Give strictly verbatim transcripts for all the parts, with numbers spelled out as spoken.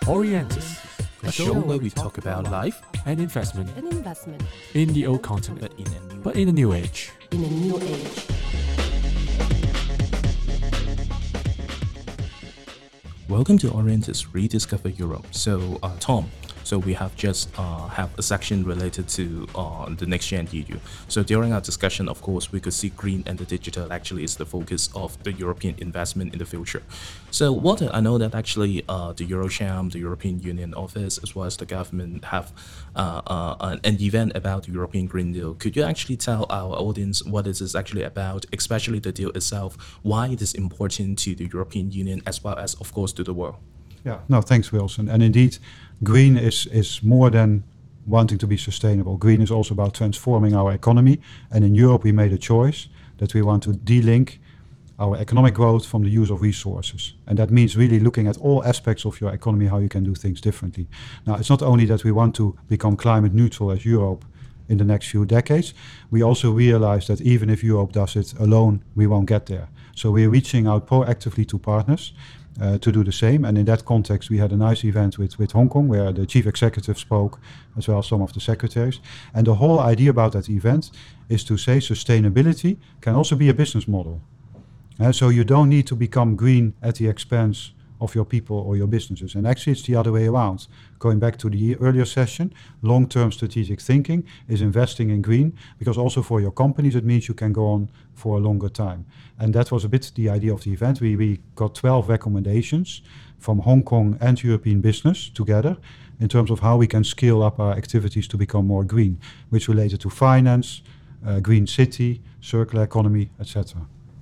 Orientis, a show where we talk about life and investment and investment in the old continent, but in a new but in a new age. in a new age. Welcome to Orientis Rediscover Europe. So, uh, Tom, so we have just uh, have a section related to uh, the next gen E U. So during our discussion, of course, we could see green and the digital actually is the focus of the European investment in the future. So, Walter, I know that actually uh, the Eurocham, the European Union office, as well as the government have uh, uh, an, an event about the European Green Deal. Could you actually tell our audience what this is actually about, especially the deal itself, why it is important to the European Union as well as, of course, to the world? Yeah, no, thanks, Wilson. And indeed, green is, is more than wanting to be sustainable. Green is also about transforming our economy. And in Europe, we made a choice that we want to de-link our economic growth from the use of resources. And that means really looking at all aspects of your economy, how you can do things differently. Now, it's not only that we want to become climate neutral as Europe in the next few decades, we also realize that even if Europe does it alone, we won't get there. So we're reaching out proactively to partners Uh, to do the same. And in that context, we had a nice event with, with Hong Kong, where the chief executive spoke, as well as some of the secretaries. And the whole idea about that event is to say sustainability can also be a business model. Uh, so you don't need to become green at the expense of your people or your businesses. And actually, it's the other way around. Going back to the earlier session, long-term strategic thinking is investing in green, because also for your companies, it means you can go on for a longer time. And that was a bit the idea of the event. We, we got twelve recommendations from Hong Kong and European business together in terms of how we can scale up our activities to become more green, which related to finance, uh, green city, circular economy, et cetera.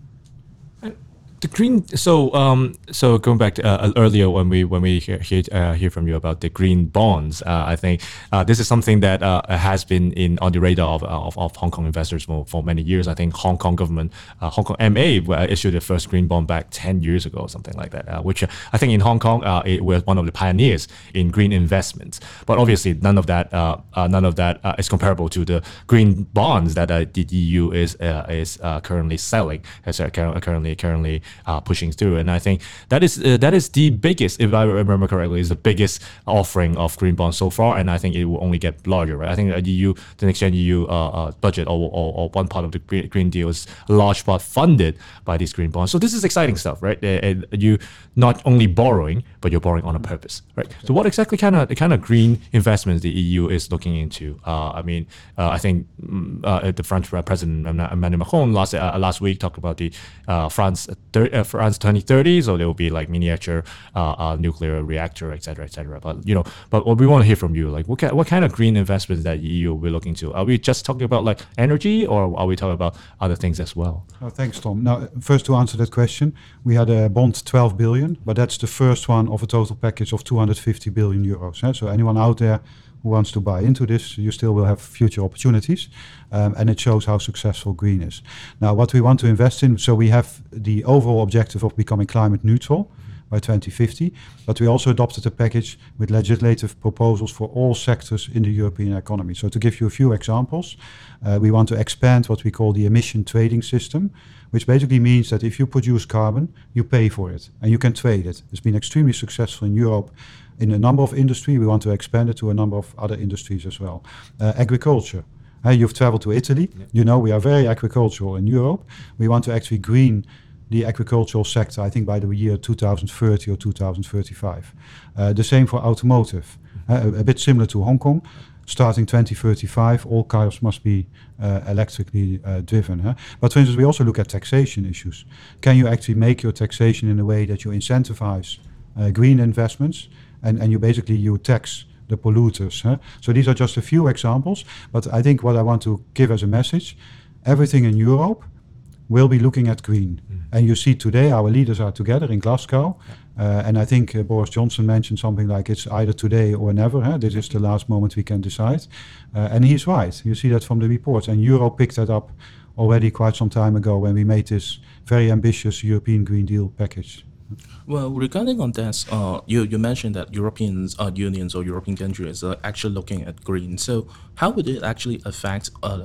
The green. So, um, so going back to, uh, earlier when we when we hear hear, uh, hear from you about the green bonds, uh, I think uh, this is something that uh, has been in on the radar of, of, of Hong Kong investors for, for many years. I think Hong Kong government, uh, Hong Kong M A issued the first green bond back ten years ago, something like that. Uh, which uh, I think in Hong Kong, uh, it was one of the pioneers in green investments. But obviously, none of that uh, uh, none of that uh, is comparable to the green bonds that uh, the E U is uh, is uh, currently selling, as uh, currently currently. Uh, pushing through, and I think that is uh, that is the biggest, if I remember correctly, is the biggest offering of green bonds so far, and I think it will only get larger. Right? I think the E U, the next gen E U uh, uh, budget, or, or, or one part of the green, green deal is a large part funded by these green bonds. So this is exciting stuff, right? And you not only borrowing, but you're borrowing on a purpose, right? So what exactly kind of the kind of green investments the E U is looking into? Uh, I mean, uh, I think uh, the French President Emmanuel Macron last uh, last week talked about the uh, France. Thir- uh, France twenty thirty, so there will be like miniature uh, uh, nuclear reactor, et cetera, et cetera. But you know, but what we want to hear from you, like what kind, what kind of green investments that E U we're looking to? Are we just talking about like energy, or are we talking about other things as well? Oh, thanks, Tom. Now, first to answer that question, we had a bond twelve billion, but that's the first one of a total package of two hundred fifty billion euros. Eh? So anyone out there who wants to buy into this, you still will have future opportunities. Um, and it shows how successful green is. Now, what we want to invest in, so we have the overall objective of becoming climate neutral by twenty fifty, but we also adopted a package with legislative proposals for all sectors in the European economy. So to give you a few examples, uh, we want to expand what we call the emission trading system, which basically means that if you produce carbon, you pay for it and you can trade it. It's been extremely successful in Europe in a number of industries. We want to expand it to a number of other industries as well. Uh, agriculture. Uh, you've traveled to Italy. Yeah. You know, we are very agricultural in Europe. We want to actually green the agricultural sector, I think, by the year two thousand thirty or two thousand thirty-five. Uh, the same for automotive. Uh, a, a bit similar to Hong Kong. Starting twenty thirty-five, all cars must be uh, electrically uh, driven. Huh? But for instance, we also look at taxation issues. Can you actually make your taxation in a way that you incentivize uh, green investments, and, and you basically you tax the polluters? Huh? So these are just a few examples, but I think what I want to give as a message, everything in Europe will be looking at green. Mm. And you see today our leaders are together in Glasgow, uh, and I think uh, Boris Johnson mentioned something like it's either today or never. Huh? This is the last moment we can decide. Uh, and he's right. You see that from the reports. And Europe picked that up already quite some time ago when we made this very ambitious European Green Deal package. Well, regarding on that, uh, you, you mentioned that European uh, unions or European countries are actually looking at green. So how would it actually affect uh,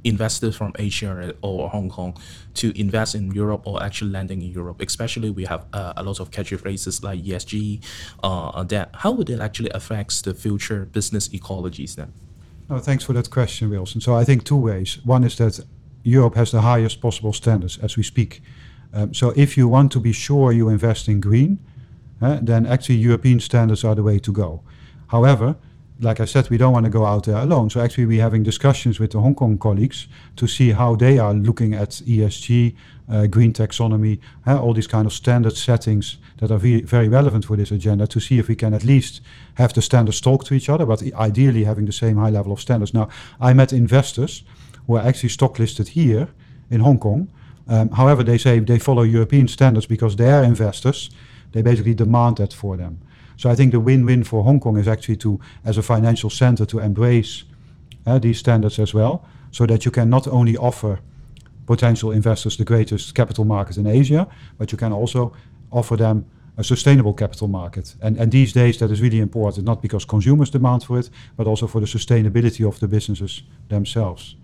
investors from Asia or Hong Kong to invest in Europe or actually landing in Europe? Especially we have uh, a lot of catchy phrases like E S G. Uh, that how would it actually affect the future business ecologies then? No, thanks for that question, Wilson. So I think two ways. One is that Europe has the highest possible standards as we speak. Um, so if you want to be sure you invest in green, uh, then actually European standards are the way to go. However, like I said, we don't want to go out there alone. So actually we're having discussions with the Hong Kong colleagues to see how they are looking at E S G, uh, green taxonomy, uh, all these kind of standard settings that are very, very relevant for this agenda, to see if we can at least have the standards talk to each other, but ideally having the same high level of standards. Now, I met investors who are actually stock listed here in Hong Kong. Um, however, they say they follow European standards because their investors, they basically demand that for them. So I think the win-win for Hong Kong is actually to, as a financial center, to embrace uh, these standards as well, so that you can not only offer potential investors the greatest capital market in Asia, but you can also offer them a sustainable capital market. And, and these days that is really important, not because consumers demand for it, but also for the sustainability of the businesses themselves.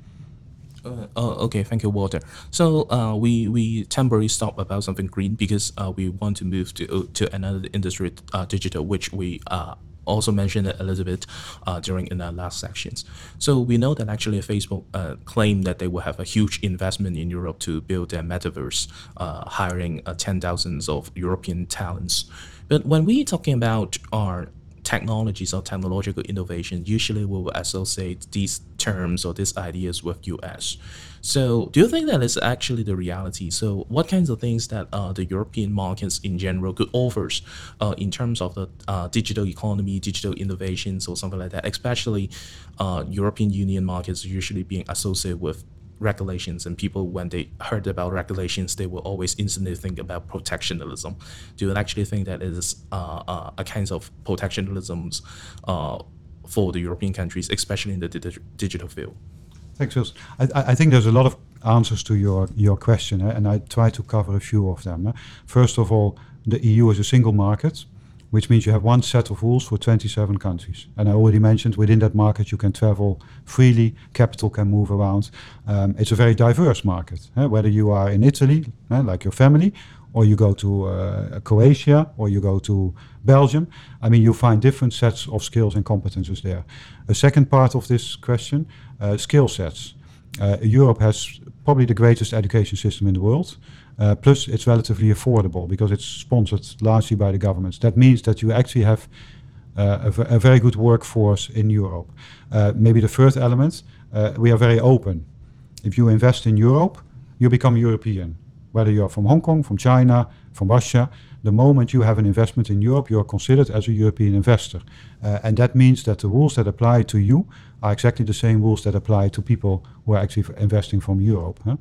Uh, oh, okay, thank you, Walter. So uh, we we temporarily stop about something green because uh, we want to move to uh, to another industry, uh, digital, which we uh, also mentioned a little bit uh, during in our last sections. So we know that actually Facebook uh, claimed that they will have a huge investment in Europe to build their metaverse, uh, hiring uh, ten thousands of European talents. But when we talking about our technologies or technological innovation, usually we will associate these terms or these ideas with U S. So do you think that is actually the reality? So what kinds of things that uh, the European markets in general could offer uh, in terms of the uh, digital economy, digital innovations or something like that, especially uh, European Union markets usually being associated with regulations, and people, when they heard about regulations, they will always instantly think about protectionism. Do you actually think that it is uh, uh, a kind of protectionism uh, for the European countries, especially in the di- digital field? Thanks, Wilson. I, I think there's a lot of answers to your, your question, eh? And I try to cover a few of them. Eh? First of all, the E U is a single market, which means you have one set of rules for twenty-seven countries. And I already mentioned within that market you can travel freely, capital can move around. Um, it's a very diverse market, eh? Whether you are in Italy, eh, like your family, or you go to uh, Croatia, or you go to Belgium. I mean, you find different sets of skills and competences there. A second part of this question, uh, skill sets. Uh, Europe has probably the greatest education system in the world. Uh, plus, it's relatively affordable because it's sponsored largely by the governments. That means that you actually have uh, a, v- a very good workforce in Europe. Uh, maybe the third element, uh, we are very open. If you invest in Europe, you become European. Whether you're from Hong Kong, from China, from Russia, the moment you have an investment in Europe, you're considered as a European investor. Uh, and that means that the rules that apply to you are exactly the same rules that apply to people who are actually f- investing from Europe. Huh?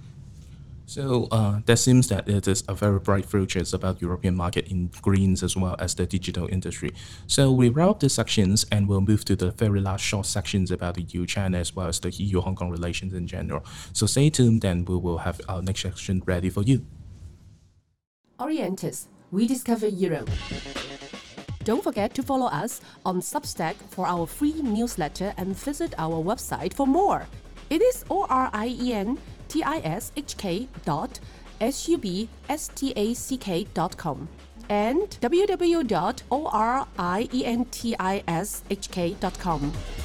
So uh, that seems that it is a very bright future about European market in greens as well as the digital industry. So we wrap up the sections and we'll move to the very last short sections about the E U China as well as the E U-Hong Kong relations in general. So stay tuned, then we will have our next section ready for you. Orientis, we discover Europe. Don't forget to follow us on Substack for our free newsletter and visit our website for more. It is O R I E N T I S H K dot S U B S T A C K dot com and w w w dot O R I E N T I S H K dot com.